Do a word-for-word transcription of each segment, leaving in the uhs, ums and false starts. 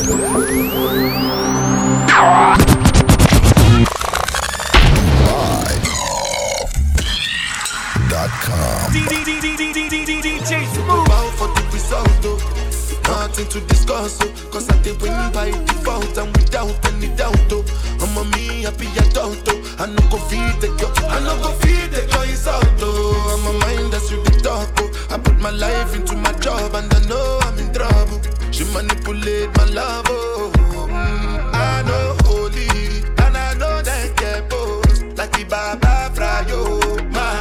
Nothing to discuss, oh, cause I did win by default and without any doubt, oh. I'm a me happy adult, oh. I no go feed the girl, I no go feed the girl, it's out, oh. I'm a mind that's really dark, oh. I put my life into my job and I know I'm in trouble. She manipulate my love, oh. Mm, I know holy, and I know that get both. Like the Baba Frayo, my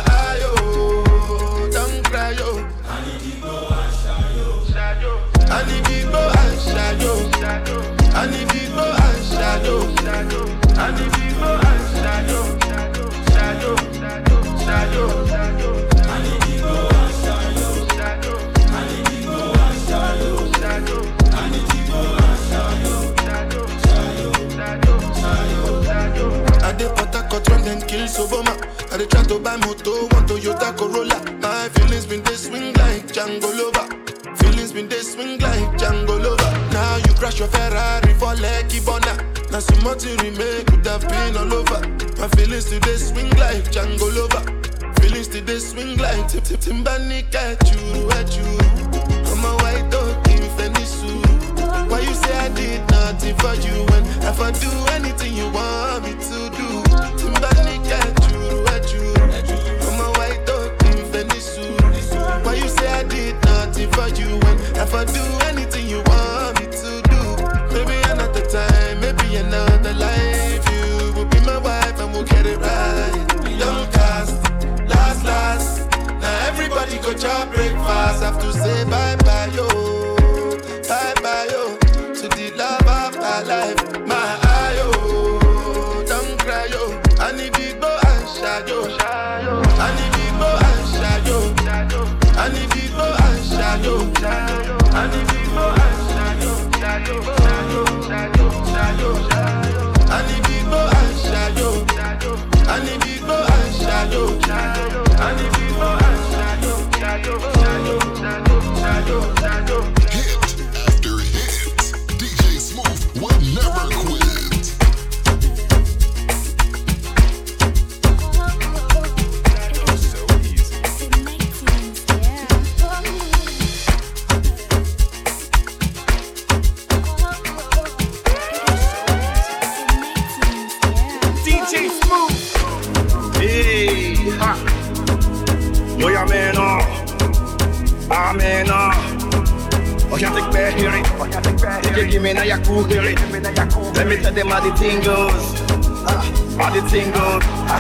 ayo, don't cry, oh. I need to go and shadow. I need to go and shadow. I need to go and shadow. I need to go and shadow. Shadow, shadow, shadow. I need to go and shadow. I need to go and shadow. I need to go and shadow. Shadow, shadow, shadow. I dey Port run then kill Soboma. I dey try to buy moto, one Toyota Corolla. My feelings been they swing like Django Lover. Feelings been they swing like Django Lover. Now you crash your Ferrari for Lucky Bona. Now some more to remake could have been all over. My feelings today swing like Django Lover. Feelings today swing like Tip Tip Timbani at you, at you. I'm a white dog in Fenisu. Why you say I did nothing for you when if I do anything you want me to do? Timbani at you, at you. I'm a white dog in Fenisu. Why you say I did nothing for you when if I do anything you want me to do? Maybe another time, maybe another life. You will be my wife and we'll get it right. Young cast, last, last. Now everybody go job breakfast. Have to say bye bye yo, bye bye yo to the love of my life. My ayo, don't cry yo. I need to go and shadow. I need to go and shadow. I need to go and shadow. I need to go and shadow. Shadow, shadow, shadow, shadow. I need to go and shadow. I need to go and shadow. I need to go and shadow. Shadow, shadow, shadow, shadow. Hit after hit, D J Smooth will never quit. Yo, ja, man, ah, man, oh, can't take back here, you give me now, you cool here. Let me tell them how the thing goes, how the thing goes.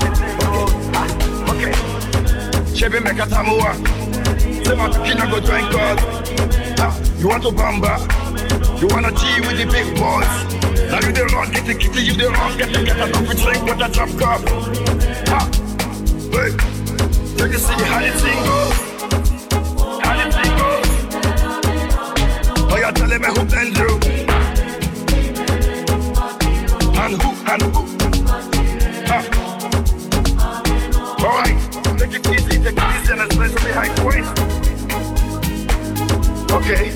Okay, Chevy make a tamua. Say my kid go drink God. You want to bamba? You wanna G with the big boys? Now you the wrong, get the kitty, you the wrong, get the get a coffee drink with a drop cup. Ah, wait, you can see how the thing goes, how the thing goes. Oh, you're telling me who blend you, and who, and who. Ah, all right, take it easy, take it easy, and especially high point. Okay.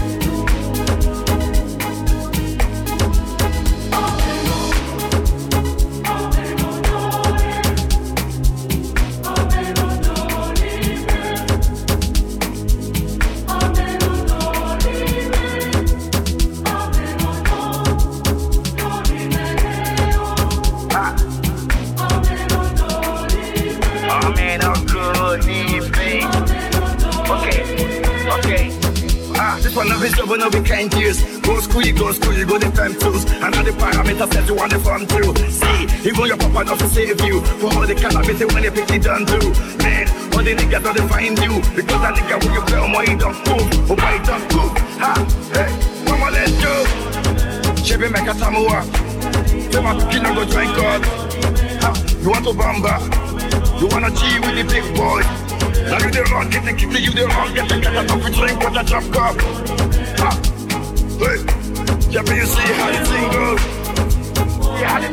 But no be kind years. Go school, you go school, you go the time tools. And all the parameters that you want to form through. See, even your papa not to save you. For all the calamity when you pick it down through. Man, all the niggas don't find you. Because that nigga when you play on why you don't move. Or why you don't move. Ha, hey, mama let's go. Chevy make a tamua. Say my kid go drink God. Ha, you want to bamba? You wanna G with the big boy? Now you the wrong, get the kitty, you the wrong, get the get a coffee drink with a drop cup. Ah, wait, yeah, but you see how the thing goes. Yeah, how the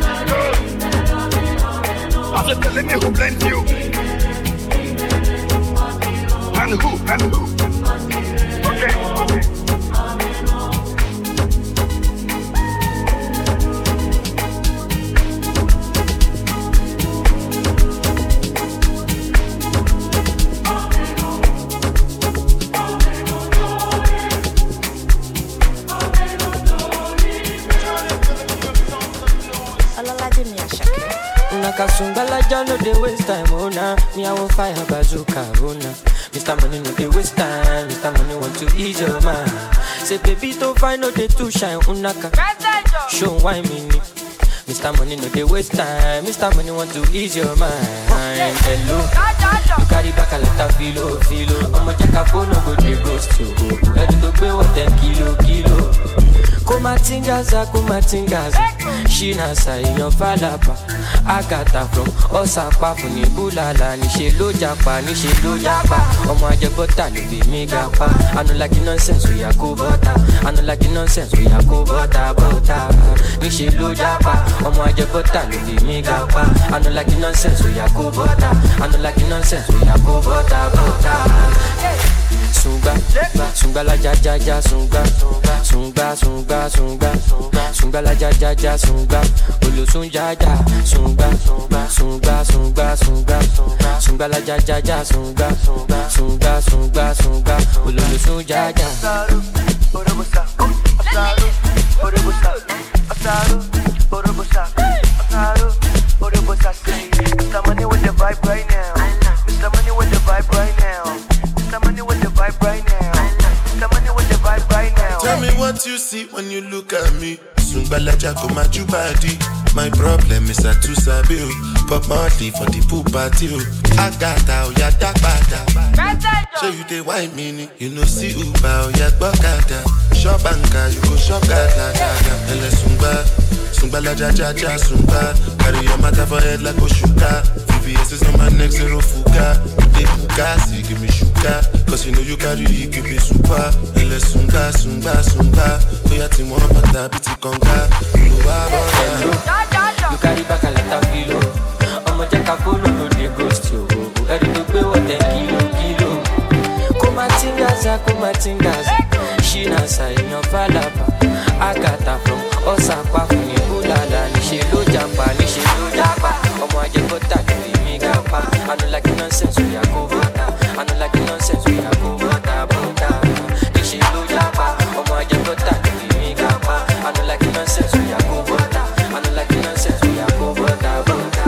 thing goes. I just telling me who blamed you. And who, and who. Okay, okay. Jaja no dey waste time, oh nah. Me I will fire bazooka, oh nah. Mister Money no dey waste time. Mister Money want to ease your mind. Say baby don't find no dey too shine, unaka. Show why me ni. Mister Money no dey waste time. Mister Money want to ease your mind. Hello, you carry back a lot of filo, filo. I'ma check a phone, no go dey ghost you. Ready to pay what ten kilo, kilo. Kumatingaza, kumatingaza. She nasa inyo falapa. Agata from Osapa funi bulala. Ni she lo japa, ni she lo japa. Omo aje bota ni be me gapa. I no like nonsense, we a go bota. I no like nonsense, we a go bota, bota. Ni she lo japa. Omo aje bota ni be me gapa. I no like nonsense, we a go bota. I no like nonsense, we a go bota, bota. Sunga, sunga la ja ja ja sunga, sunga sunga sunga, sunga la ja ja ja sunga, olo sunja ja sunga, sunga sunga sunga, sunga la ja ja ja sunga, sunga sunga sunga, olo sunja ja. Orobosa, asaru, orobosa, asaru, orobosa, asaru, orobosa. Mister Money with the vibe right now. Mister Money with the vibe right now. Mister Money with the vibe right now. Mister Money with the vibe right now. Tell me what you see when you look at me. Sungbala Jaco Majubadi. My problem is I too sabi. Pop Marley for the pool party. I got out, ya dark bada. Show you the wine mini. You know see Uba, ya Bokada. Shop banka, you go shop gada gada. Ele Sungba, Sungbala Jaja Jaja Sungba. Carry your matter for head like Oshuka. V V S is on my neck, zero fuga. They Bugatti, give me sugar. Cause you know you carry, you give me super. Ele Sunga, Sunga, Sunga. Oya ti mo pata biti konga. You carry back a lot of kilo. I'ma check a phone, no dey ghost you. Ready to pay what ten kilo, kilo. Kumatingaza, kumatingaza. She nasa inyo falapa. Agata from Osaka funi bulala. Ni she lo japa, ni she lo japa. Omo aje bota ni mi gapa. I no like nonsense, we a go bota. I no like nonsense, we a go bota, bota. Ni she lo japa. Omo aje bota ni mi gapa. I no like nonsense, we a go bota. I no like nonsense, we a go bota, bota.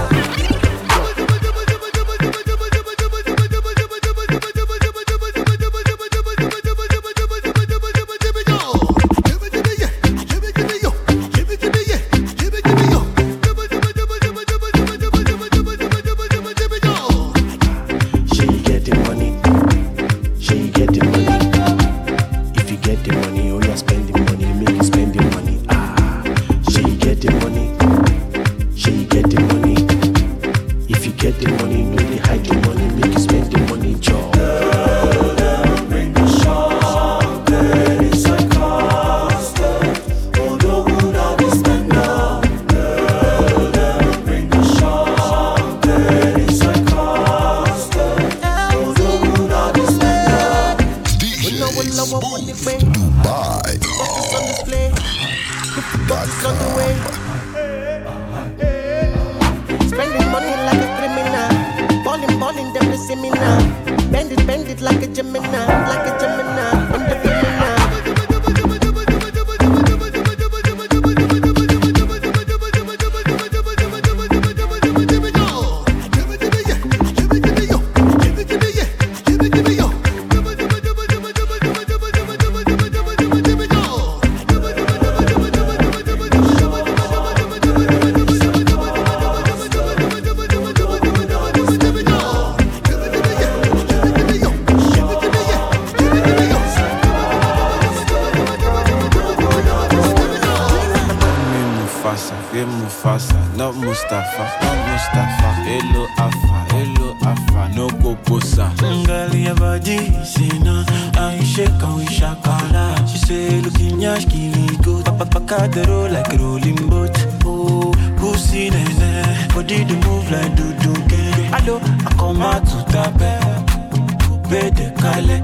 Not Mustafa, not Mustafa. Hello Alpha, hello Alpha. No go bossa. Girl, your body, say no. I shake and we shakala. She say, looking yash, killing good. Papa, papa, the roll like a rolling boat. Oh, pussy, nene. Body, the move like do do get. Hello, I come out to the bed. Coupe de Calais.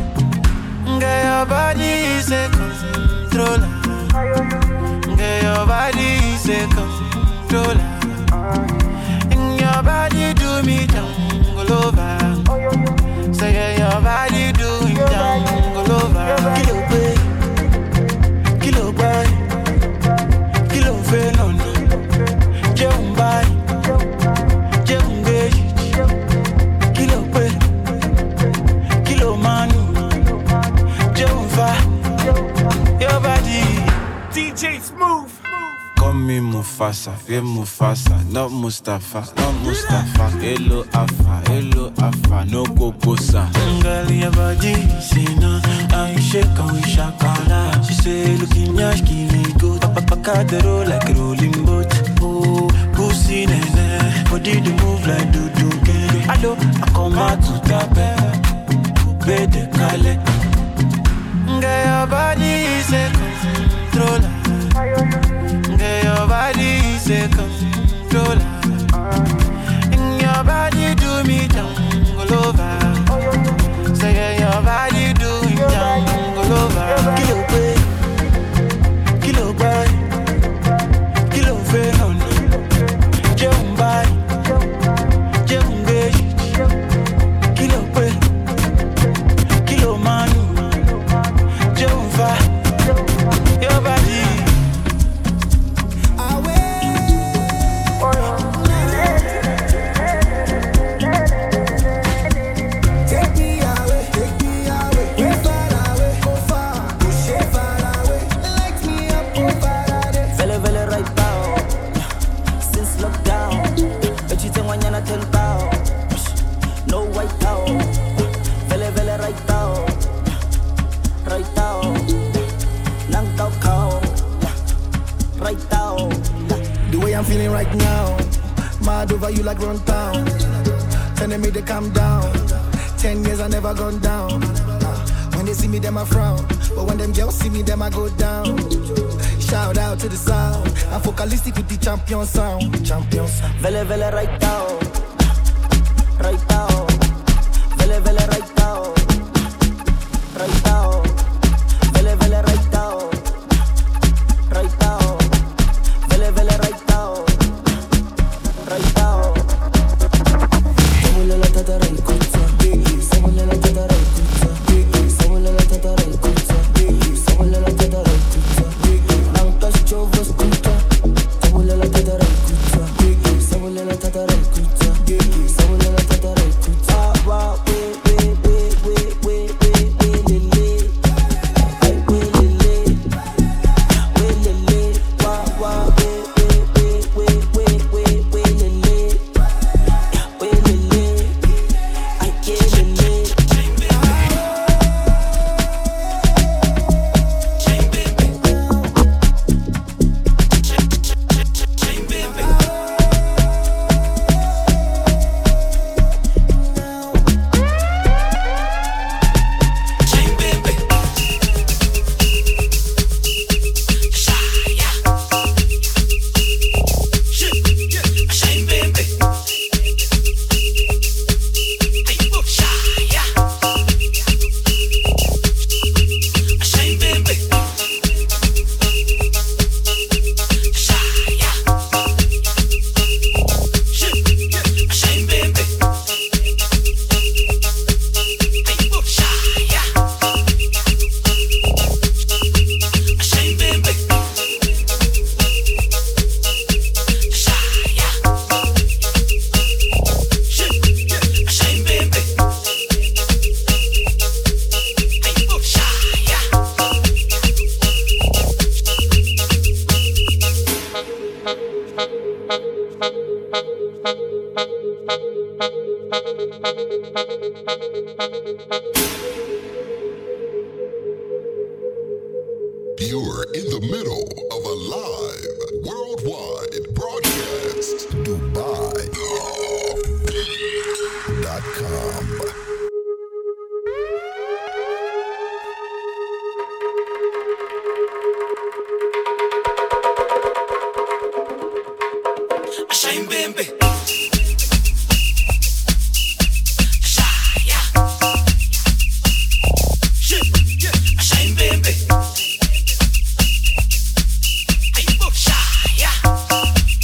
Girl, your body is a controller. Girl, your body is a controller. And your body do me jungle over. Say yeah, your body do me jungle over. Kilo boy, kilo boy, kilo fenono. Je umbai, je J Smooth. Call me Mufasa, yeah Mufasa, not Mustafa, not Mustafa. Hello Alpha, hello Alpha, no Kokosa. Girl, your body, say no, I shake and we shakala. She say, looking yash, kill go. Papa the roll like a rolling boat. Oh, pussy nene, body the move like do do get. Hello, I come out to tape, be the kale. Girl, your body is a controller. Girl, your body is a controller. And your body do me jungle over. Say yeah, your body do me jungle over. Kilo boy, kilo boy, kilo fe honey. Jump by, jump by. Kilo boy, kilo man, jump far. Your body. I'm feeling right now, mad over you like run town. Telling me to calm down. Ten years I never gone down. When they see me, them I frown. But when them girls see me, them I go down. Shout out to the sound. I'm focalistic with the champion sound. Champion sound. Vele vele right now, right now. Vele vele right now, right now. Vele vele right now, right now. Vele vele right. Right now, la tata right kutsa, someone la tata right kutsa, someone la tata right kutsa, someone la tata right kutsa. Now touch your voice kutsa, someone la tata right kutsa, someone la tata right kutsa, someone la tata right kutsa. Wow, wait, wait, wait, wait, wait, wait, wait, lele, ay wait lele, wait lele, wow, wow, wait, wait, wait, wait, wait, wait. You're in the middle of a live worldwide broadcast. Dubai dot com. Shine, baby. Shine, baby.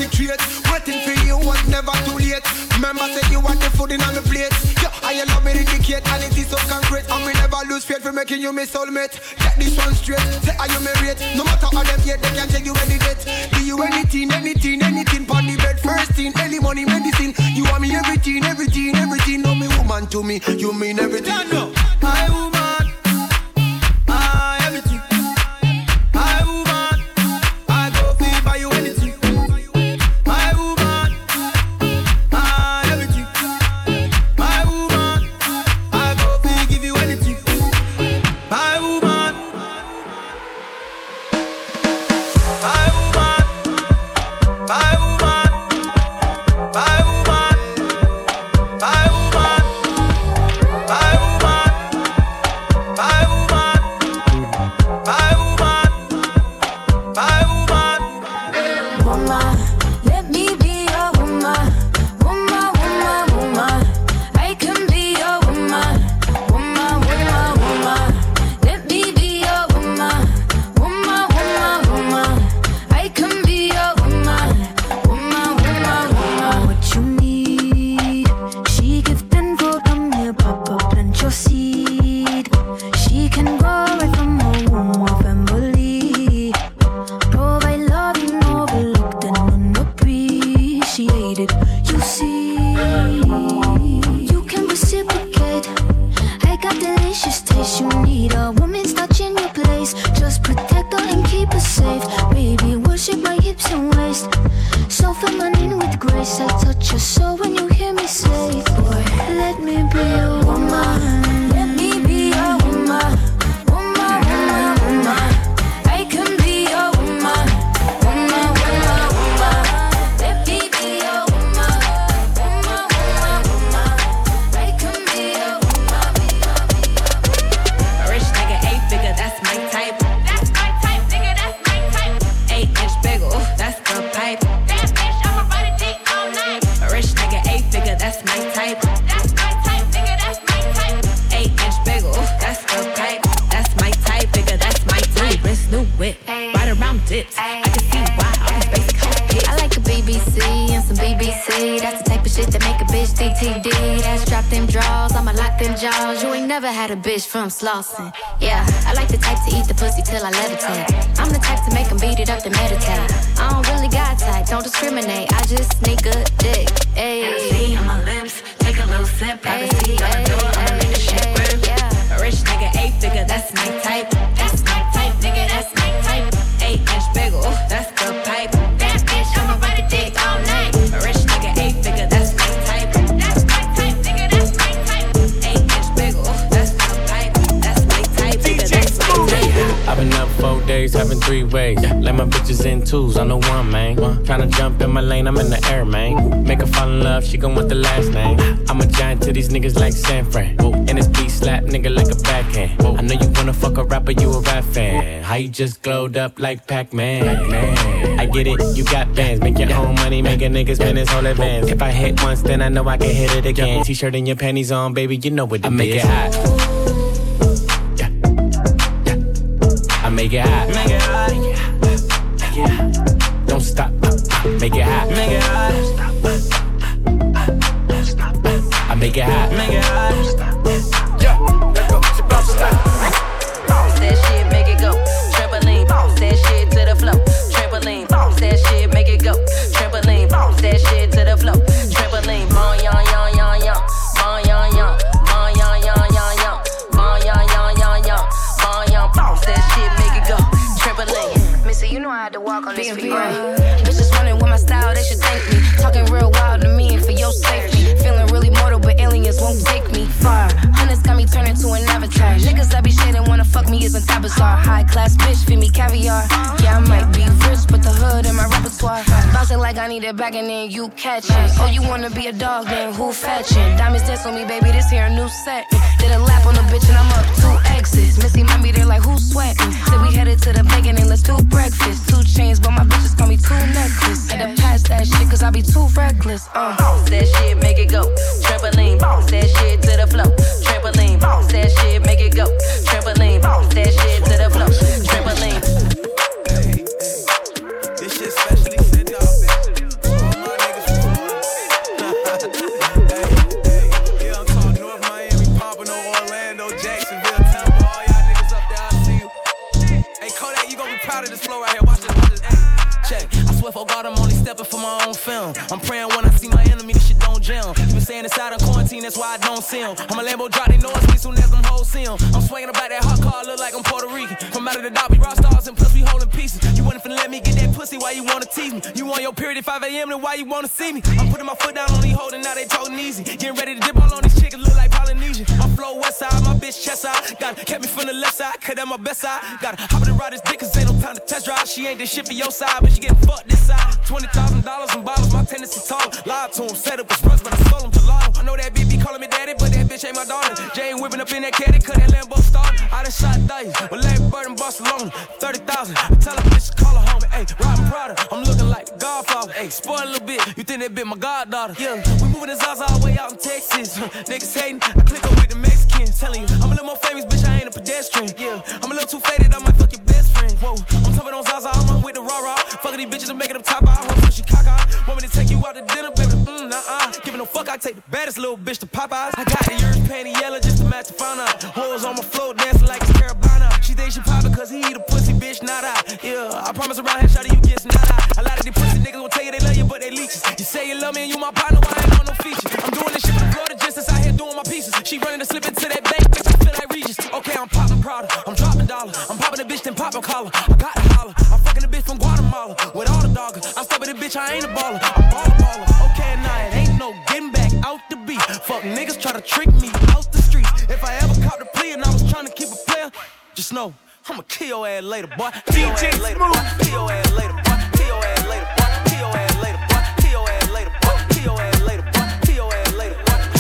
penetrate. Waiting for you was never too late. Remember say you want the food in on the plate. Yeah, I love me indicate and it is so concrete. And we never lose faith for making you my soulmate. Get this one straight, say are you married? No matter how them yet, they can take you any date. Do you anything, anything, anything pon the bed. First thing, any money, medicine. You want me everything, everything, everything. No me woman to me, you mean everything. No, my woman, I everything. My woman, I go feel by you anything. My woman, I everything. My woman, I go feel give you anything. My woman, my woman, my woman, my woman, my woman, my woman, my woman, my woman, my woman. Woman, let me be your woman. Woman, woman, woman. I can be your woman. Woman, woman, woman. Let me be your woman. Woman, woman, woman. I can be your woman. Woman, woman, woman. What you need, she give tenfold. Come here, pop up, plant your seed. She can grow right from her womb or family. Provide love you overlooked and unappreciated. You see, you can reciprocate. I got delicious taste. You need a woman's touch in your place. Just protect her and keep her safe. Baby, worship my hips and waist. So feminine with grace. I touch your soul when you hear me say, boy, let me be your woman. Let me be your woman. Woman, woman, woman. I can be your woman. Woman, woman, woman. Let me be your woman. Woman, woman, woman. I can be your woman. A rich nigga, eight figure, that's my type. That's my type, nigga, that's my type. Eight inch bigger, ooh, that's the pipe. That bitch, I'ma ride a dick all night. A rich nigga, eight figure, that's my type. That's my type, nigga, that's my type. Eight inch bigger, ooh, that's the pipe. That's my type, nigga, that's my type. New wrist, new whip, right around dips. I can see why all these basic hoes hit. I like a B B C and some B B C. That's the type of shit that make a bitch D T D. That's drop them draws, I'ma lock them jaws. You ain't never had a bitch from Slauson. Yeah, I like the type to eat the pussy till I levitate. I'm the type to make them beat it up to meditate. I don't really got type, don't discriminate. I just need good dick. Ayy. See on my lips, take a little sip. Privacy on the door, I'ma make the shit work. Yeah. A rich nigga, eight figure, that's my type. That's my type, nigga, that's my type. Eight inch bigger, ooh, that's the pipe. That bitch, I'ma ride a dick all night. A rich nigga, eight figure, that's my type. That's my type, nigga, that's my type. Eight inch bigger, ooh, that's the pipe. That's my type, nigga, that's my type. I've been up four days, having three ways. Let my bitches in twos, I'm the one, man. Tryna jump in my lane, I'm in the air, man. Make her fall in love, she gon' want the last name. I'm a giant to these niggas like San Fran. And this beat slap nigga like a backhand. I know you wanna fuck a rapper, you a rap fan. How you just glowed up like Pac-Man? Man, I get it, you got bands. Make your own money, make a nigga spend his whole advance. If I hit once, then I know I can hit it again. T-shirt and your panties on, baby, you know what it is. I make it hot. Yeah, yeah. I make it hot. Make it hot. Make it hot. Don't stop. Make it hot. Make it hot. I make it hot. Make it hot. Yo, let go. Bounce that shit, make it go. Trampoline, bounce that shit to the floor. Trampoline, bounce that shit, make it go. Trampoline, bounce that shit to the floor. Trampoline, bon yon yon yon yon, bon yon yon, bon yon yon yon yon, bon yon yon yon yon, bon yon. Bounce that shit, make it go. Trampoline. Missy, you know I had to walk on this feet. Bitches running with my style, they should thank me. Talking real wild to me and for your safety. Feeling really mortal, but aliens won't take me far. Hundreds got me turning to an avatar. Niggas that be shading wanna fuck me isn't that bizarre. High class bitch, feed me caviar. Yeah, I might be rich, but the hood in my repertoire. Bouncing like I need it back and then you catch it. Oh, you wanna be a dog, then who fetching? Diamonds dance on me, baby, this here a new set. Did a lap on the bitch and I'm up two exits. Missy might be there like who's sweating. Said we headed to the bacon and let's do breakfast. Two chains, but my bitches call me two necklace. Had to pass that shit cause I be too reckless. Uh. Bounce that shit, make it go. Trampoline, bounce that shit to the floor. Trampoline, bounce that shit, make it go. Trampoline, bounce that shit to the floor. Trampoline. Hey, hey. This shit specially sent off. to this flow right here. Watch this, watch this. Hey, check. I swear for God, I'm only stepping for my own film. I'm praying when I see my enemy, this shit don't jam. You been saying inside of quarantine, that's why I don't see him. I'm a Lambo drop, they know it's me soon as them hoes see him. I'm swinging about that hot car, look like I'm Puerto Rican. From out of the Dobby, rock stars and plus we holding pieces. You wasn't finna let me get that pussy, why you wanna tease me? You on your period at five a.m., then why you wanna see me? I'm putting my foot down on these holding, now they talking easy. Getting ready to dip all on these chickens, look like Polynesian. My flow west side, my bitch chest side. Gotta kept me from the left side, cause that's my best side. Gotta hop in and ride this dick, cause ain't no time to test drive. She ain't this shit for your side, but she getting fucked this side. twenty thousand dollars in bottles, my tendency tall. Lied to him, set up his rush, but I stole him to law. I know that bitch be calling me daddy, but that bitch ain't my daughter. Jane whipping up in that caddy, cause that Lambo started. I done shot dice, with Larry Bird in Barcelona. thirty thousand, tell her bitch to call her home. Ayy, Robin Prada, I'm looking like a Godfather. Ayy, spoil a little bit, you think that bitch my goddaughter. Yeah, we moving the Zaza all the way out in Texas. Niggas hating, I click up with the Mexicans. Telling you, I'm a little more famous, bitch, I ain't a pedestrian. Yeah, I'm a little too faded, I might fuck your best friend. Whoa, I'm talking on Zaza, I'm run with the raw raw. Fucking these bitches and making them top out. I'm pushing caca. Want me to take you out to dinner, baby? Mm, nah-uh. Giving no fuck, I take the baddest little bitch to Popeyes. I got the yours panty yellow just to match the fauna. Hoes on my floor dancing like it's Carabana. She thinks she poppin' cause he eat a pussy, bitch, not I. Yeah, I promise around here, shawty, you get not I. A lot of these pussy niggas will tell you they love you, but they leeches. You say you love me and you my partner, why I ain't on no features? I'm doing this shit for the Florida just out here doing my pieces. She running to slip into that bank, bitch, I feel like Regis. Okay, I'm poppin' Prada, I'm dropping dollar. I'm popping the bitch, then poppin' collar. I got to holler, I'm fucking the bitch from Guatemala. With all the doggers, I'm stepping the bitch, I ain't a baller. I'm baller, baller. Okay, nah, it ain't no getting back out the beat. Fuck niggas try to trick me out the streets. If I ever caught the plea and I was trying to keep a player, just know I'ma kill your ass later, boy. D J Smooth. Kill your ass later, boy. Kill your ass later, boy. Kill your ass later, boy. Kill your ass later, boy. Kill your ass later, boy. Kill your ass later,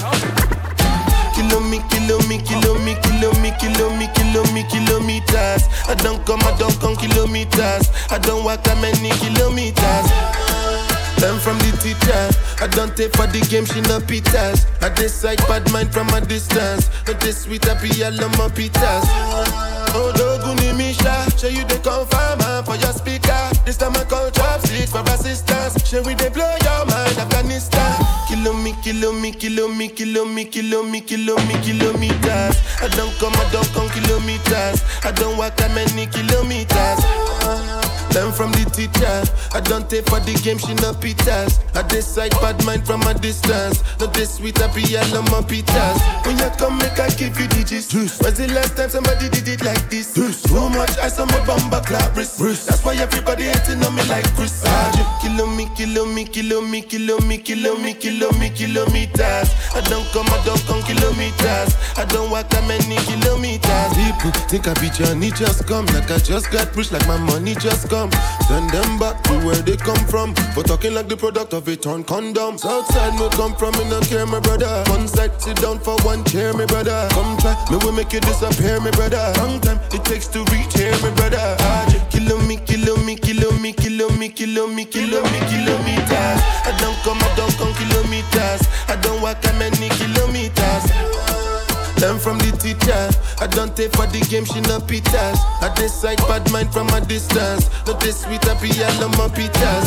boy. Kilo me, kilo me, kilo me, kilo me, kilo me, kilo me, kilometers. I don't come, I don't come kilometers. I don't walk that many kilometers. Learn from the teacher. I don't take for the game, she no pitas. I decide bad mind from a distance. Not this sweet, I be all on my pitas. Oh, Doguni Misha, show you the confirm for your speaker. This time I call chopsticks for assistance. Show we they blow your mind, Afghanistan. Kilo me, kilo me, kilo me, kilo me, kilo me, kilo me, kilometers. I don't come, I don't come kilometers. I don't walk that many kilometers. Learn from the teacher. I don't take for the game, she no pitas. I decide bad mind from a distance. Not this sweet, I be all on my pitas. When you come, make I give you digits. When's the last time somebody did it like this? Too much ice on my bumper clap wrist. That's why everybody hating on me like Chris. Kilo me, kilo me, kilo me, kilo me, kilo me, kilo me, kilometers. I don't come, I don't come kilometers. I don't walk that many kilometers. People think I be Johnny, just come. Like I just got rich, like my money just come. Send them back to where they come from. For talking like the product of a torn condom. Southside me come from, me no care, my brother. One side, sit down for one chair, my brother. Come try, me will make you disappear, my brother. Long time it takes to reach here, my brother. Kilo me, kilo me, kilo me, kilo me, kilo me, kilo me, kilometers. I don't come, I don't come kilometers. I don't walk that many kilometers. Learn from the teacher. I don't take for the game, she no pitas. I decide bad mind from a distance. Not this sweet, I be all on my pitas.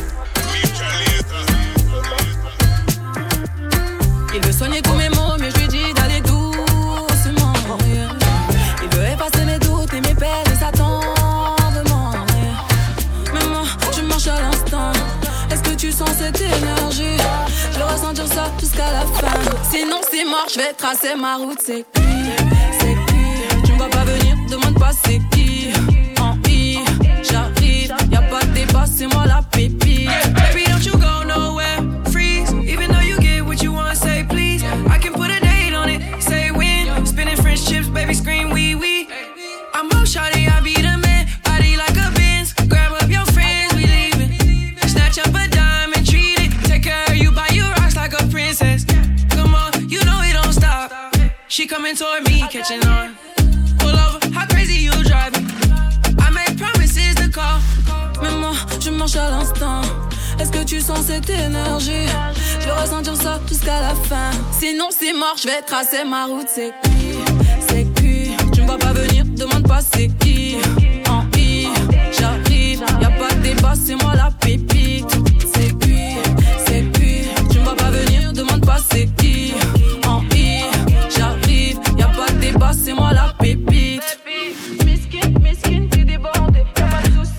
Il veut soigner tous mes mots, mais je lui dis d'aller doucement. Yeah. Il veut effacer mes doutes et mes peines et s'attendement. Yeah. Mais moi, je marche à l'instant. Est-ce que tu sens cette énergie? Je veux ressentir ça jusqu'à la fin. Sinon c'est mort, je vais tracer ma route. C'est cuit, c'est cuit. Tu me vois pas venir, demande pas c'est qui. En I, j'arrive, y'a pas de débat, c'est moi la pépite. Baby, don't you go nowhere, freeze. Even though you get what you want, say please. I can put a date on it, say when. Spinning French chips, baby, scream wee wee. I'm up, shawty, I be the man. Body like a Benz, grab up your friends, we leaving. Snatch up a dime and treat it. Take care of you, buy you rocks like a princess. Come on, you know it don't stop. She coming toward me, catching on. Pull over, how crazy you driving? I make promises to call. Mais moi, je marche à l'instant. Est-ce que tu sens cette énergie? Je veux ressentir ça jusqu'à la fin. Sinon c'est mort, je vais tracer ma route. C'est cuit, c'est cuit. Tu me vois pas venir, demande pas c'est qui. En I, j'arrive, y'a pas de débat, c'est moi la pépite. C'est cuit, c'est cuit. Tu me vois pas venir, demande pas c'est qui. En I, j'arrive, y'a pas de débat, c'est moi la pépite. Miskin, miskin, t'es débordé. Y'a pas de soucis.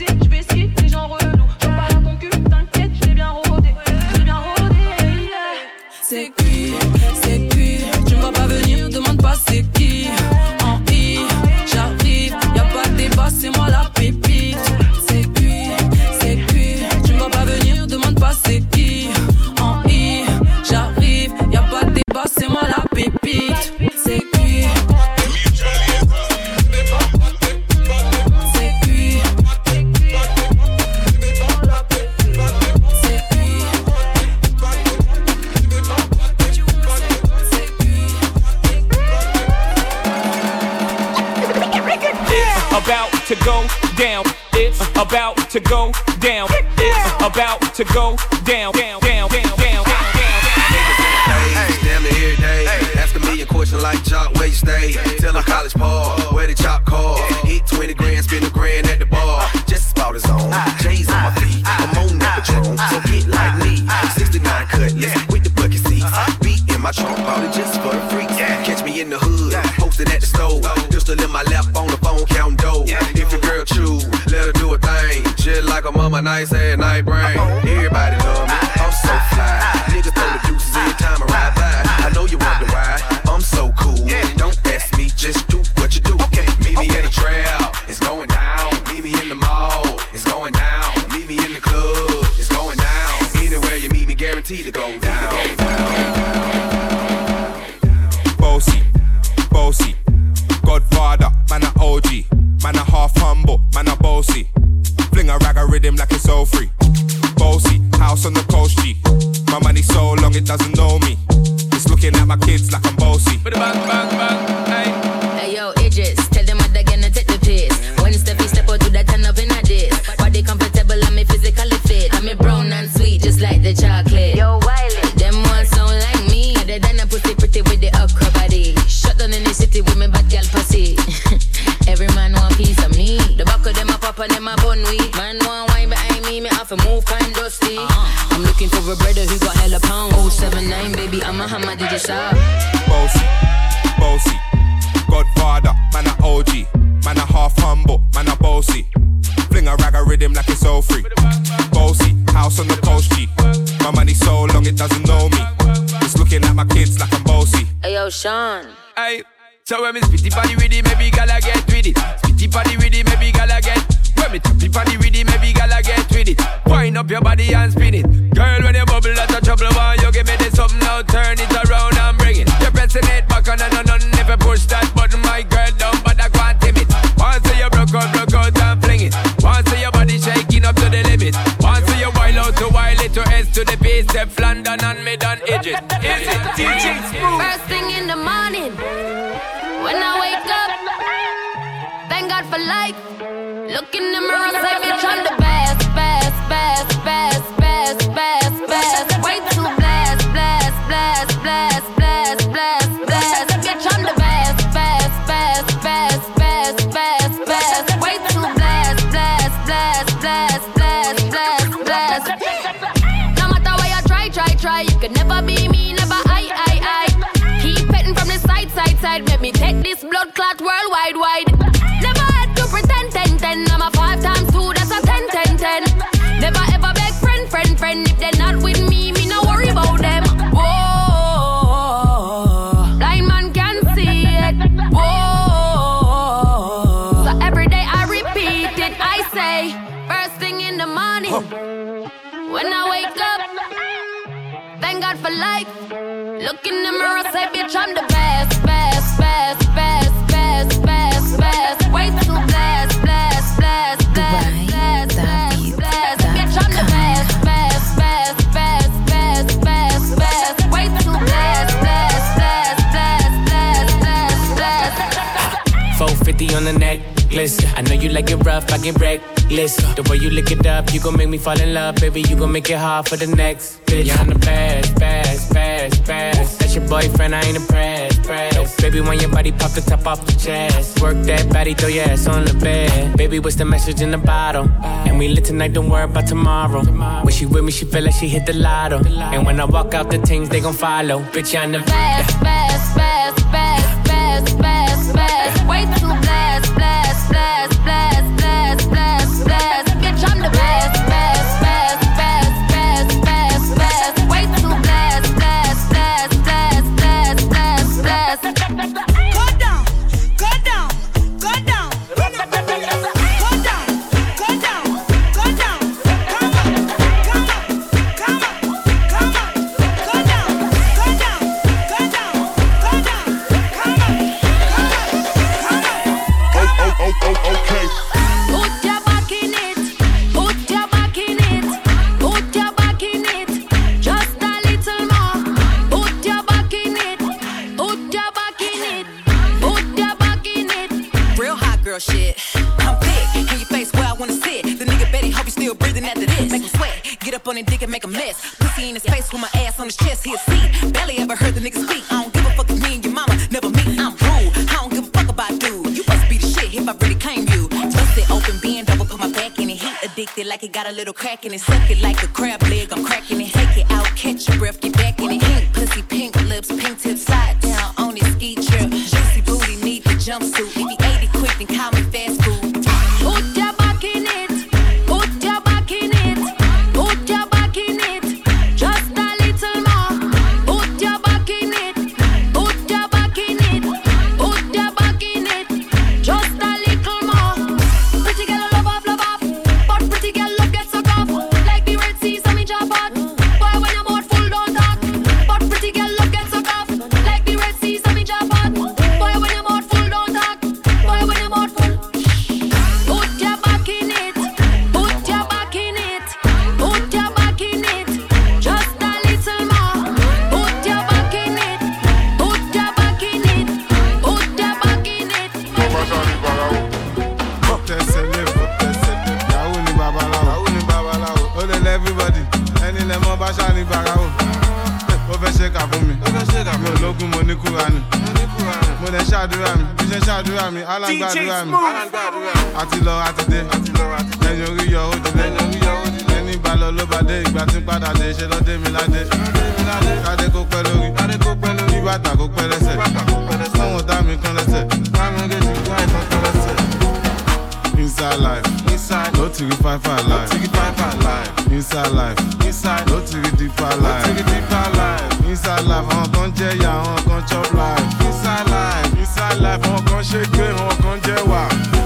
It's about to go down. It's about to go down, down, down, down, down, down, down. Damn it every day. Ask a million questions like Jock, where you stay? Tell them college ball, where they chop cars. Hit twenty grand, spend a grand at the bar. Just about his own. J's on my feet, I'm on that Patron. So get like me, sixty-nine cutlass with the bucket seats. Beat in my trunk, bought it just for the freaks. Catch me in the hood, posted at the stove. Pistol in my lap, on the phone, counting dough. If your girl chew, let her do a thing. Shit like a mama, nice and night brain. Everybody love me, I'm so fly. Niggas throw the deuces every time I ride by. I know you wonder why I'm so cool. Don't ask me, just do what you do. Okay, meet me in the trail, it's going down. Meet me in the mall, it's going down. Meet me in the club, it's going down. Anywhere you meet me, guaranteed to go down. Bossy, bossy, Godfather, man a O G, man a half humble, man a bossy. Fling a rag a rhythm like it's all free. Bossy, house on the coast G. My money so long it doesn't know me. It's looking at my kids like I'm bossy. Bang, bang, bang, hey. Hey yo, Idris, tell them what they're gonna take the piss. When Steffi step out to that turn up in a diss. Body comfortable, I'm physically fit. I'm a brown and sweet, just like the chocolate. Yo, Wiley, them ones sound like me. They done a pussy pretty with the upper body. Shut down in the city with me bad girl pussy. Every man want piece of me. The back of them a pop and them a bun weed. Man want wine behind me, me have to move kind dusty. Uh-huh. I'm looking for a brother who got hella pound. oh seven nine, baby, I'm a hammer, did you shop? Bossy, bossy, Godfather, man a O G, man a half humble, man a bossy. Fling a rag a rhythm like it's all free. Bossy, house on the coast G. My money so long it doesn't know me. It's looking at my kids like I'm bossy. Hey yo, Sean. Hey, so when me spitty party with it, maybe gala get with it. Spitty party with it, maybe gala get. When me tappy party with it, maybe gala get with it. Wind up your body and spin it. Girl, when you bubble, that's a trouble. Why you give me this something now? Turn it around and bring it. You're pressing it back on and on and never push that button, my girl, down, but I can't tame it. Once you broke out, broke out and fling it. Once your body shaking up to the limit. Once you wild out to wild it to S to the base, step London and mid and edges. Is it D J Smooth? First thing in the morning, when I wake up, thank God for life. Look in the mirror, say bitch I'm the best, best, best, best, best, best, best. Way too blessed, blessed, blessed, blessed, blessed, blessed, blessed. Bitch I'm the best, best, best, best, best, best, best. Way too blessed, blessed, blessed, blessed, blessed, blessed, blessed. No matter what you try, try, try, you could never be me, never I, I, I. Keep petting from the side, side, side. Let me take this blood clot worldwide, wide. Never had to pretend, ten, ten. I'm a five times two, that's a ten, ten, ten. Never ever beg friend, friend, friend. If they're not with me, me no worry about them. Whoa, blind man can see it. Whoa, so every day I repeat it. I say, first thing in the morning, when I wake up, thank God for life. Look in the mirror, say, bitch, I'm the best, best, best, best, best, best, best. Way too blessed, blessed, blessed, blessed, blessed, blessed, blessed. Bitch, I'm the best, best, best, best, best, best, best. Way too blessed, blessed, blessed, blessed, blessed, blessed, blessed. four fifty on the necklace. I know you like it rough, I get reckless. The way you lick it up, you gon' make me fall in love, baby. You gon' make it hard for the next bitch. Yeah, I'm the best, best, best, best. That's your boyfriend, I ain't impressed, press. Baby, when your body pop the top off the chest, work that body, throw your ass on the bed. Baby, what's the message in the bottle? And we lit tonight, don't worry about tomorrow. When she with me, she feel like she hit the lotto. And when I walk out, the things they gon' follow. Bitch, I'm the best, best, best, best, best, best, best. Way too blessed, blessed, blessed, blessed, blessed, blessed, blessed. Bitch, I'm the best, best, best, best, best, best, best. Way too blessed, blessed, blessed, blessed, blessed, blessed, blessed. Go down, go down, go down. Go down, go down, go down. Come on, come on, come on, come on. Go down, go down, go down, go down. Come on, come on, come on. Oh, oh, oh, oh, okay. Put your back in it, put your back in it, put your back in it, just a little more. Put your back in it, put your back in it, put your back in it. Real hot girl shit. I'm big, in your face where I wanna sit. still breathing after this. Make him sweat, get up on his dick and make a mess. Pussy in his face with my ass on his chest, he'll see. Barely ever heard the nigga speak. I don't give a fuck if me and your mama never meet. I'm rude, I don't give a fuck about dude. You must be the shit if I really claim you. Twist it open, bend over, put my back in it. He addicted like it got a little crack in it. Suck it like a crab leg, I'm cracking it. Take it out, catch your breath, get back in it. Pink pussy, pink lips, pink tips, slide down on his ski trip. Juicy booty, need the jumpsuit. If he ate it quick, then call me fast food. Put your back in it, put your back in it, put your back in it, just a little more. Put your back in it, put your back in it, put your back in it, just a little more. Pretty girl love off, love off, but pretty girl love get suck off. Like the Red Sea, so me drop out. Boy, when your mouth full, don't talk. But pretty girl love get suck off. Like the Red Sea, so me drop out. Boy, when your mouth full, don't talk. Boy, when your mouth full. Put your back in it, put your back in it, put your back in it, just a little more. Put your back in it, put your back in it, put your back in it. Everybody, any lemon bashani barao. Over shake up for me. Over shake up. Yo, logo money kurani. Mo le ṣàdúrà mi, bí ṣe ṣàdúrà mi, alágbàdúrà mi. Àti lọ àti dé, ẹ̀yin orí yọ ó dilé. Ẹni bá lọ ló bá dé, ìgbà tí ń padà dé, ṣe lọ dé mi ládé. Kádé kó pẹ́ lórí, bí bàtà kó pẹ́ lẹ́sẹ̀. Sọ́wọ́n dá mi kán lẹ́sẹ̀, bámi ń gèjì kó àìsàn kán lẹ́sẹ̀. Inside life, inside, no to five five life. Inside life, inside, no to deeper life. Inside life, on con jaya, on con chop life. Inside life, inside life, on con shake, on con jewa.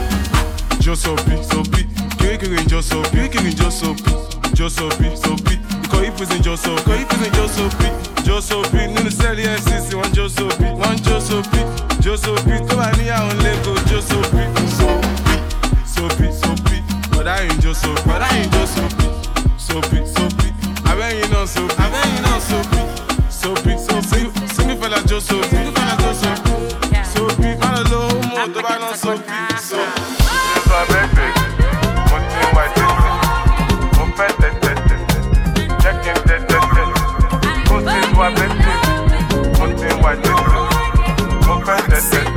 Josopi, sopi, kiri Josopi, kiri Josopi, Josopi, sopi. Iko ipuzin Josopi, iko ipuzin Josopi, Josopi. Nunu seli F C C, one Josopi, one Josopi, Josopi. To ani ya on lego Josopi, sopi. Soapy, soapy, but I ain't just soapy, but I ain't just soapy, soapy, soapy. I bet you know soapy, I bet you know soapy, soapy, soapy. Sing it for that just soapy, sing it for that just soapy, soapy. Man, a little more, but I know soapy, soapy. It's my baby, one thing white, open that, that, that, check in that, that, that. Go see my baby, one thing white, open that, that, that, check in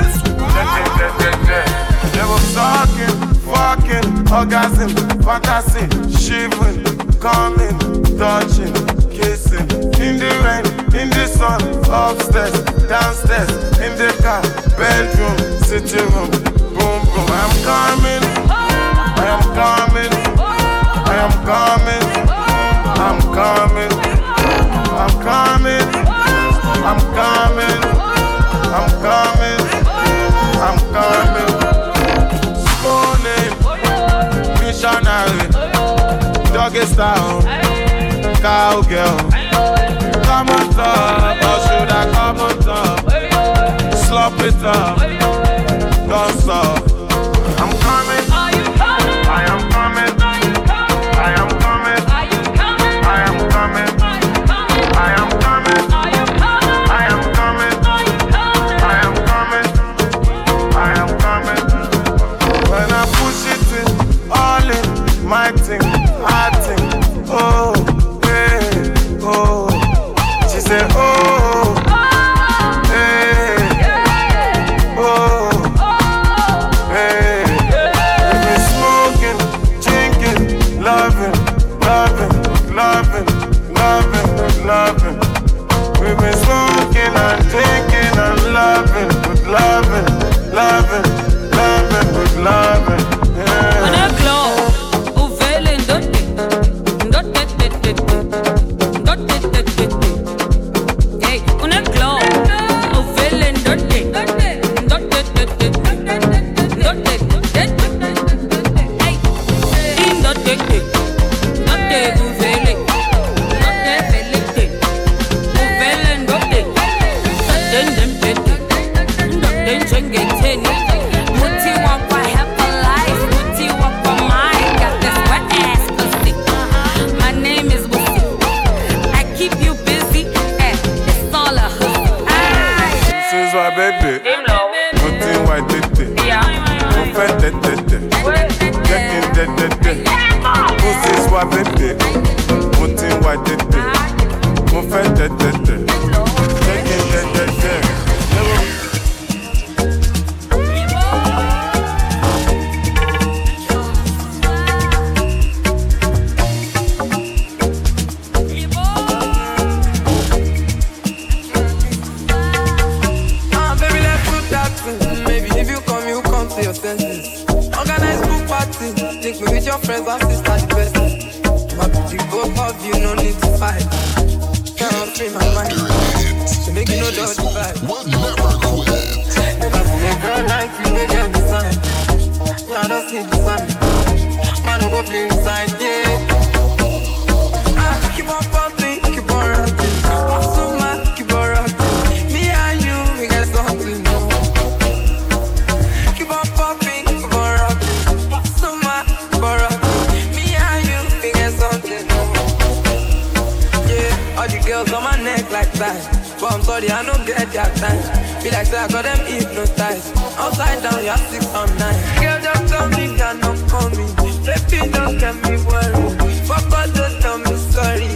that, that, that. They were talking, fucking, orgasm, fantasy, shivering, coming, touching, kissing. In the rain, in the sun, upstairs, downstairs, in the car, bedroom, sitting room, boom, boom. I'm coming, I am coming, I am coming, I'm coming, I'm coming, I'm coming, I'm coming, I'm coming. Missionary, doggy style, cowgirl. Come on top, or should I come on top? Slop it up, don't stop. I'm coming, I am coming, I am coming, I am coming, I am coming, I am coming, I am coming, I am coming. When I push it in, all in my thing, I think, oh, hey, oh. She said, oh, hey, oh, hey. We've been smoking, drinking, loving, loving, loving, loving, loving. We've been smoking and drinking and loving, with loving, loving, loving, with loving. wá bébè, mo ti ń wá tètè, mo fẹ́ tẹ̀tẹ̀tẹ̀, jẹ́ kí n tẹ̀tẹ̀tẹ̀. Think me with your friends and sisters the best. My beauty, both of you, no need to fight. Can't free my mind. So make you know the vibe. We'll never quit. Never see a girl like you, make her design. Yeah, I don't see the sign. Man, go play inside, yeah. Ah, keep on pumping, keep on rocking. So much, keep on rocking. Me and you, we got something new. Keep on pumping, keep on rocking. Girls on my neck like that, but I'm sorry I don't get that time. Feel like say I got them hypnotized. Upside down, you're six on nine. Girl, just tell me you're not coming. Baby, don't get me worried. Fuck all, don't tell me sorry.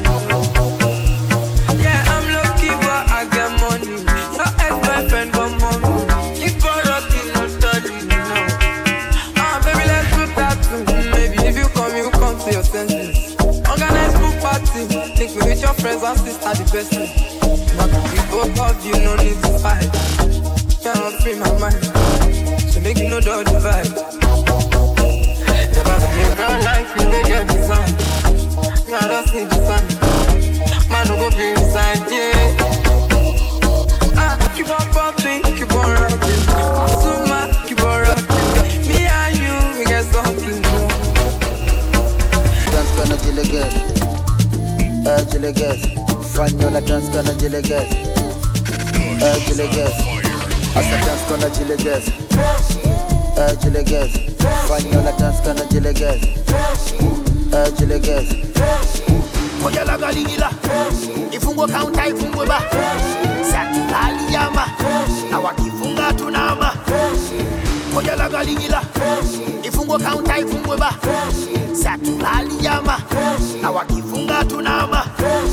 Yeah, I'm lucky, but I get money. Your ex-boyfriend got money. You got rocking, no study, no. Ah, baby, let's do that too. Maybe if you come, you come to your senses. Organize pool party. Think me with your friends and sisters the best thing. But we both of you, no need to fight. Cannot free my mind. So make you know the vibe. Never seen a girl like you, they get design. Yeah, I don't see the sun. Man, don't go be inside, yeah. Ah, keep on popping, keep on rocking. So much, keep on rocking. Me and you, we get something new. Dance gonna kill again. Uh, Jilegas, Fanyola dance gonna Jilegas. Uh, Jilegas, Asa dance gonna Jilegas. Uh, Jilegas, Fanyola dance gonna Jilegas. Uh, Jilegas. Koya la galigila, ifungo kaunta ifungwe ba. Satu aliyama, na wakifunga tunama. Koya la galigila, ifungo kaunta ifungwe ba. Satu aliyama, na wakifunga tunama.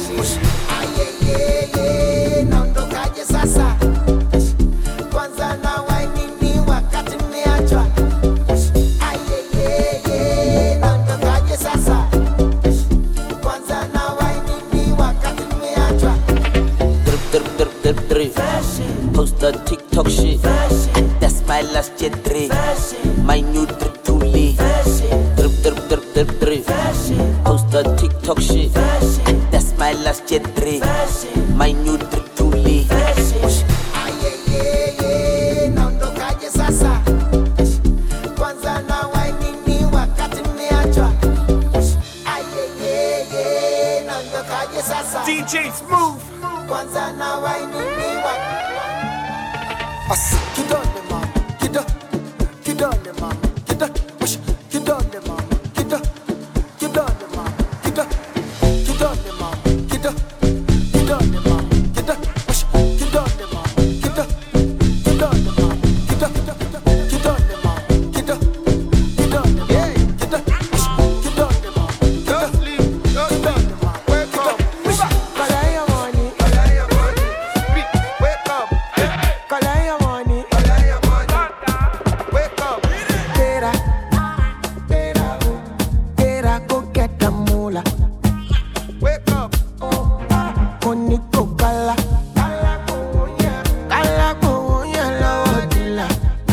Ayeyeye, naondokaje sasa? Kwanza na wainini wakati mmeachwa. Ayeyeye, naondokaje sasa? Kwanza na wainini wakati mmeachwa. Drip, drip, drip, drip, drip. Post the TikTok shit. That's my last year drip. My new drip to leave. Drip, drip, drip, drip, drip. Post the TikTok shit. That's my last year drip. My new drip to leave. Ayeyeye, naondokaje sasa? Kwanza na wainini wakati mmeachwa. Ayeyeye, naondokaje sasa? D J Smooth. Kwanza na wainini wakati. Asa kidole mama, kidole, kidole mama, kidole, kidole mama, kidole, kidole mama, kidole, kidole mama, kidole, kidole mama, kidole, kidole mama, kidole, kidole mama, kidole, kidole mama, kidole, kidole mama, yeah, kidole, kidole mama, don't sleep, don't sleep, wake up, collect your money, collect your money, wake up, collect your money, collect your money, wake up, tera, tera, tera, go get the moolah, wake up, money go kala, kala go yeah, kala go yeah, la odila.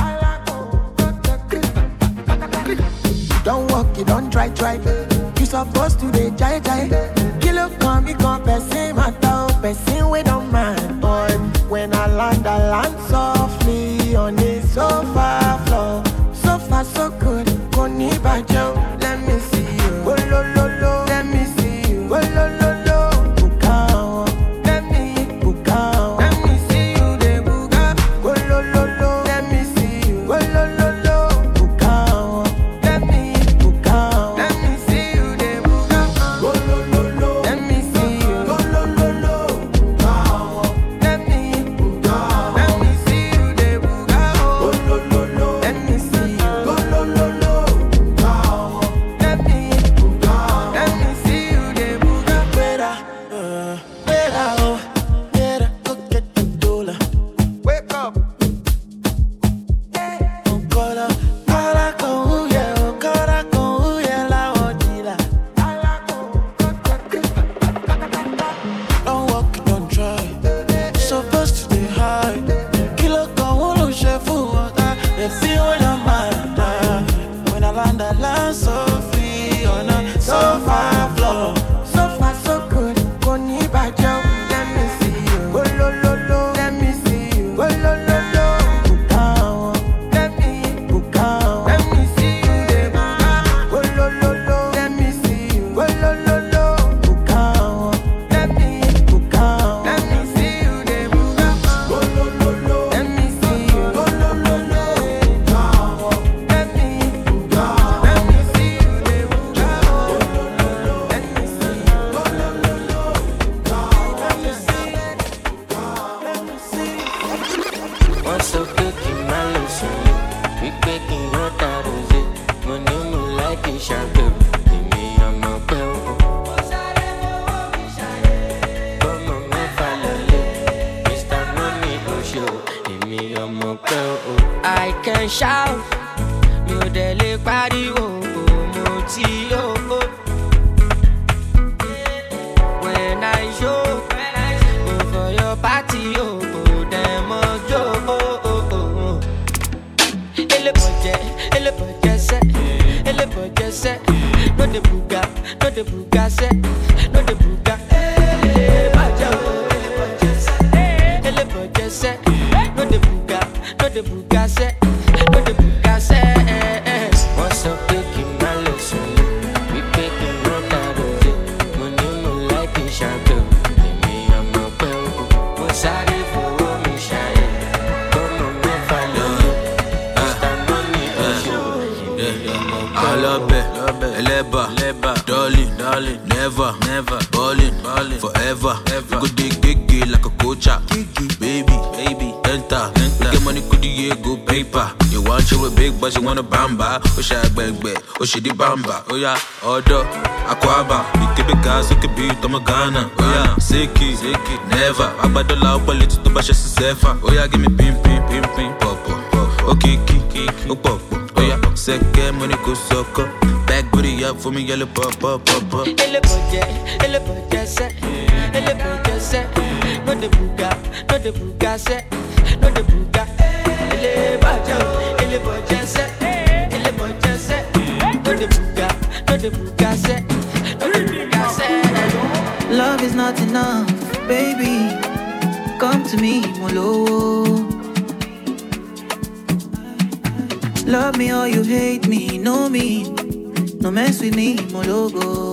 Don't walk, you don't try, try. You supposed to be jai jai. Kilo come, me come, person matter, person we don't mind. Boy, when I land, I land softly on the sofa floor. So far, so good. Koni bajo, let me see you. Oh, lo, lo, lo. Let me see you. Oh, lo, lo, lo. Bukao. Let me bukao. Let me see you, de buka. Oh, lo, lo, lo. Let me see you. Oh, lo, lo, lo. Bukao. Let me bukao. Let me see you, de buka. Oh, lo, lo, lo. Let me see you. Oh, lo, lo, lo. Bukao. Let me bukao. Let me see so far flow. So far so good, go ni bajo. Let me see you, go lo lo lo. Let me see you, go lo lo lo. Bukao, let me bukao. Let me see you, de bukao. Go lo lo lo. Let me see you, go lo lo lo. Bukao, let me bukao. Let me see you, de bukao. Go lo lo lo. Let me see you, go lo lo lo. Bukao, let me bukao. Let me see you, de bukao. Let me see you, go lo lo lo. Bukao, let me see you, let me see you. What's up, cooking my lotion? We baking your daughters. Money mo like a shark. Me, I'm a bell. Come on, me follow it. Mister Money go show. Me, I'm a bell. I can shout. You dele party oh moti oh. When I show, go for your party oh. Them oh. Ele boje, ele boje se, ele boje se. No de buga, no de buga se, no de buga. Ele boje, ele boje se, ele boje se. No de buga, no de buga se, no de buga se. What's up, taking my lesson? We taking no tattoo. Money no like a shark. Me I'm a bell. What's that for me shine? Come on, me follow. I love it, Eleba, darling, darling, never, never, ballin', ballin', forever, ever. Good dig, gig, like a coacha, baby, baby, enter, enter. Get money, could you go paper? You want you a big, but you want a bamba? Oh, she bang bang, oh she di bamba, oh yeah, order, aquaba, you keep it gas, you keep it, I'm a Ghana, oh yeah, siki, siki, never. I buy the loud, but it's to bash a sefa, oh yeah, give me pim, pim, pim, pim, pop, pop, oh kiki, kiki, oh pop, oh yeah, second money go sucker. Back booty up for me, yellow pop, pop, pop, pop. Ele boje, ele boje se, ele boje se. No de buga, no de buga se, no de buga. Ele boje, ele boje se, ele boje se. No de buga, no de buga se, no de buga se. Love is not enough, baby. Come to me, Molo. Love me or you hate me, know me. No mess with me, Mologo.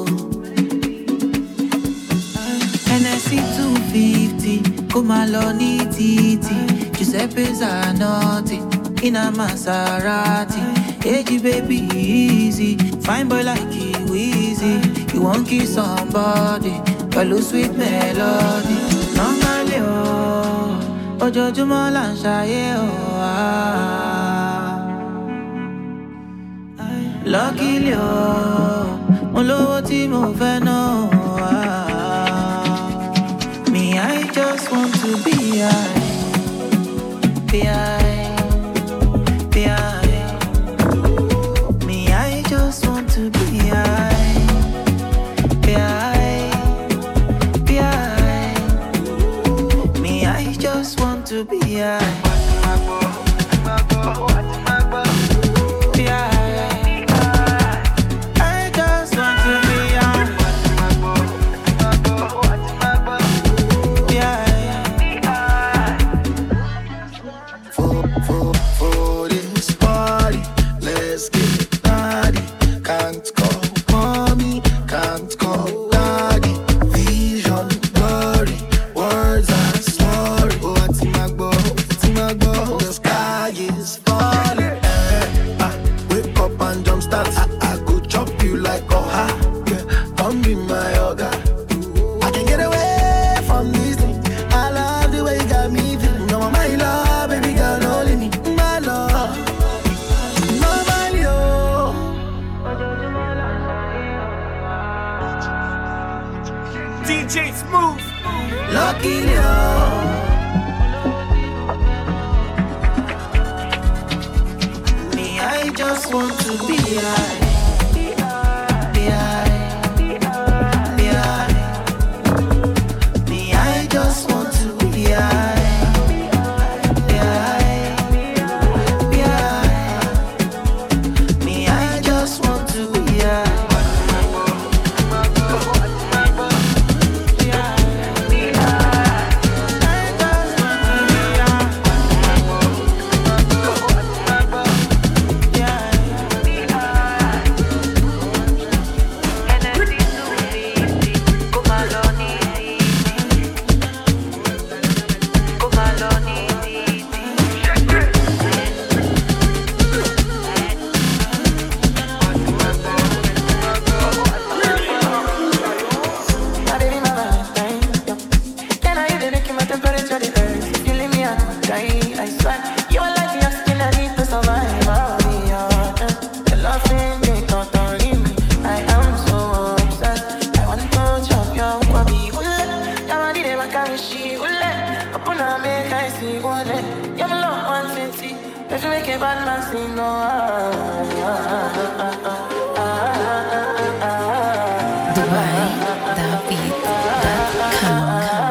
N S C two fifty, Kumaloni Titi. Giuseppe Zanotti, in a Maserati. Hey, baby, easy. Fine boy like you, easy. You won't kiss somebody, but lose sweet melody. Normally, oh, Ojo Jumo Lanshaye, oh, ah. Luckily, oh, mo lówó tí mo fẹ́ ná, ah. Me, I just want to be high, be high, be high. Me, I just want to be high, be high, be high. Me, I just want to be high. make a bad man sing, no. Dubai, David, come,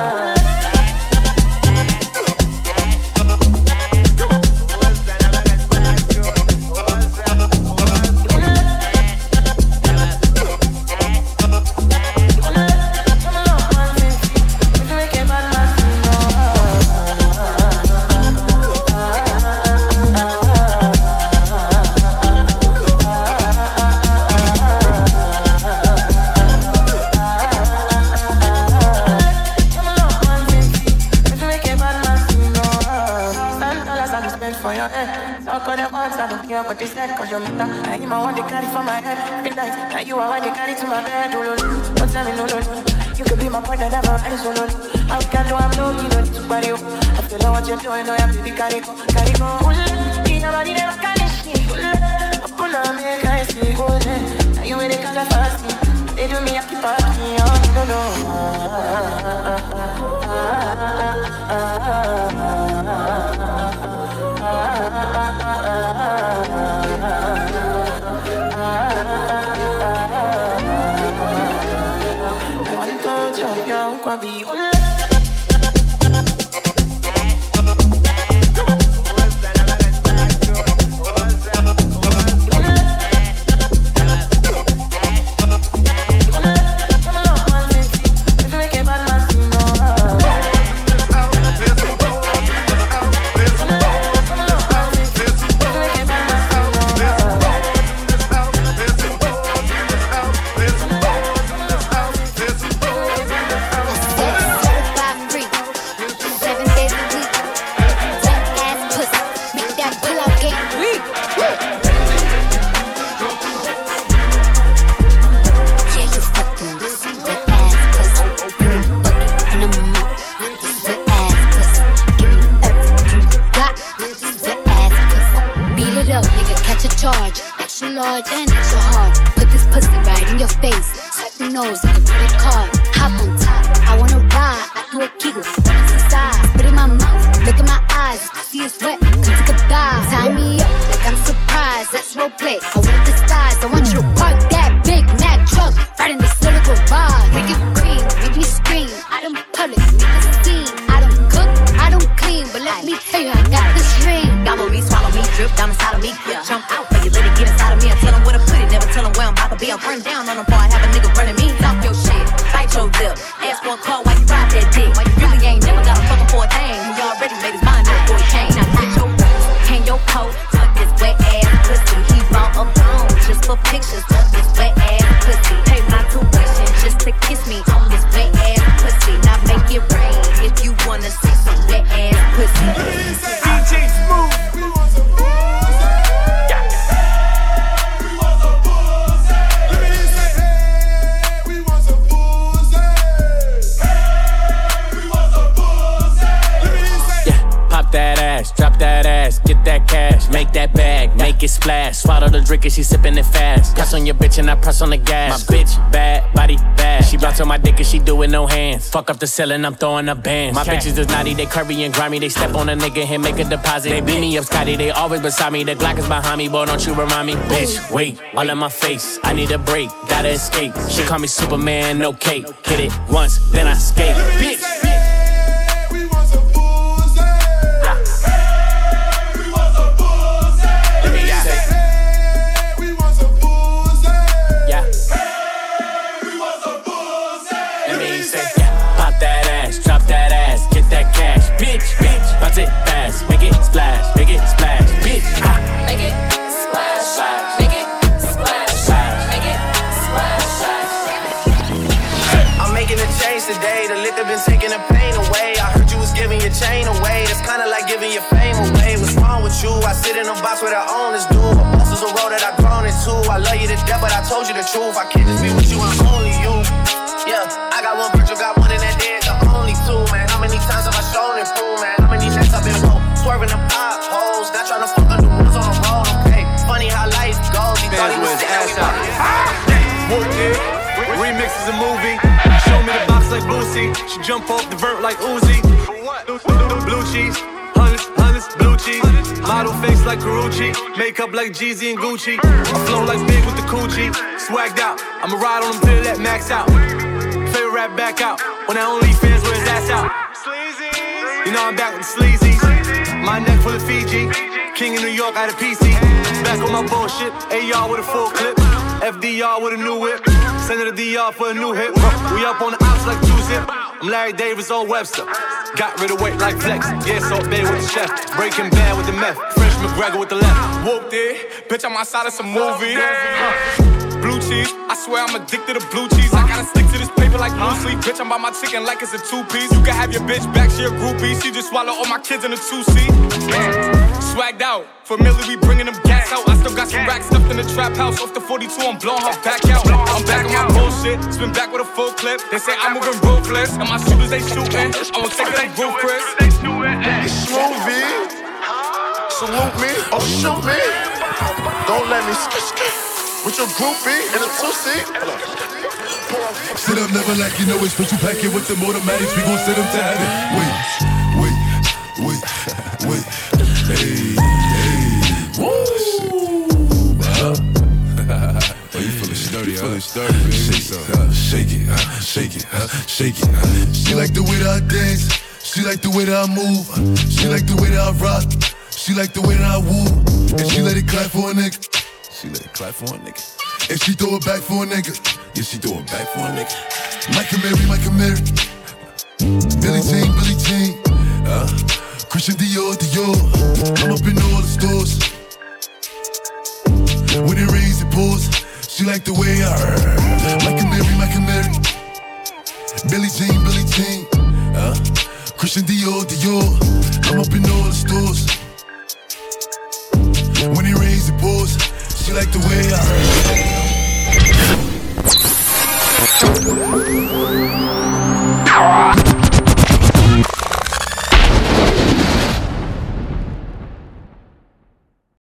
but this head, cause you're matter. I am one they carry for my head. Midnight, now you are one they carry to my bed. Don't tell me no, no, no. You could be my partner, never any solo. I can't do, I'm low, you don't need to body up. I feel like what you're doing, no, you have to be carry go, carry go. Nobody never can see. Open up, make I see. Now you in the color fast. They do me, I keep asking, oh, no, I want to jump, young, Kwabi. She sippin' it fast. Press on your bitch and I press on the gas. My bitch bad, body bad. She bounce on my dick and she do it no hands. Fuck up the ceiling, I'm throwing up bands. My bitches is naughty, they curvy and grimy. They step on a nigga and make a deposit. They beat me up, Scotty, they always beside me. The Glock is behind me, boy, don't you remind me. Bitch, wait, all in my face. I need a break, gotta escape. She call me Superman, no cape. Hit it once, then I skate. Bitch. Bounce it fast, make it splash, make it splash, bitch. Ah. Make it splash, splash, make it splash, splash, make it splash, splash. I'm making a change today. The liquor been taking the pain away. I heard you was giving your chain away. That's kinda like giving your fame away. What's wrong with you? I sit in a box where the owners do. A boss is a road that I've grown into. I love you to death, but I told you the truth. I can't just be with you, I'm only you. Yeah, I got one Virgil, got one in that dead, the only two, man. How many times have I shown it through, man? How many nights I've been woke, swerving the potholes, not trying to fuck on the rules on the road, okay? Funny how life goes, he thought he was dead, we ah! Remix is a movie, show me the box like Boosie, she jump off the vert like Uzi. Blue cheese, hundreds, Honest, blue cheese. Model face like Karuchi. Makeup like Jeezy and Gucci. I flow like big with the coochie. Swagged out. I'ma ride on them till that max out. Favorite rap back out. When that only fans wear his ass out. You know I'm back with the sleazy. My neck full of Fiji. King in New York out of P C. Back on my bullshit. A R with a full clip. F D R with a new whip. Send it to D R for a new hit. We up on the ops like two zip. I'm Larry Davis on Webster. Got rid of weight like Flex. Yeah, Salt Bay with the chef. Breaking Bad with the meth. Fresh McGregor with the left. Whooped it. Bitch, I'm outside of some movie. Blue cheese. I swear I'm addicted to blue cheese. I gotta stick to this paper like blue sleep. Bitch, I'm by my chicken like it's a two-piece. You can have your bitch back, she a groupie. She just swallow all my kids in a two-seat. Swagged out. Familiar, we bringing them gas out. I still got some racks stuffed in the trap house. Off the forty-two, I'm blowing her back out. I'm back on my bullshit. Spin back with a full clip. They say I'm moving ruthless. And my shooters, they shooting. I won't take that roof, Chris. Smoothie. Salute me or shoot me. Don't let me skip skip. With your groupie in a two-seat. Sit up, never like you know it's special packet with them automatics. We gon' set them to heaven. Wait, wait, wait, wait. Hey, hey. Woo! Oh, you feelin' sturdy, you feelin' sturdy, baby. Shake, uh, shake it, uh, shake it, uh, shake it. Uh. She like the way that I dance. She like the way that I move. She like the way that I rock. She like the way that I woo. And she let it clap for a nigga. She let it clap for a nigga. And she throw it back for a nigga. Yeah, she throw it back for a nigga. Micah Mary, Micah Mary. Billie Jean, Billie Jean. Uh, Christian Dior, Dior. I'm up in all the stores. When it rains, it pours. She like the way I heard. Micah Mary, Micah Mary. Billie Jean, Billie Jean. Uh, Christian Dior, Dior. I'm up in all the stores. When it rains, it pours. She like the way I heard.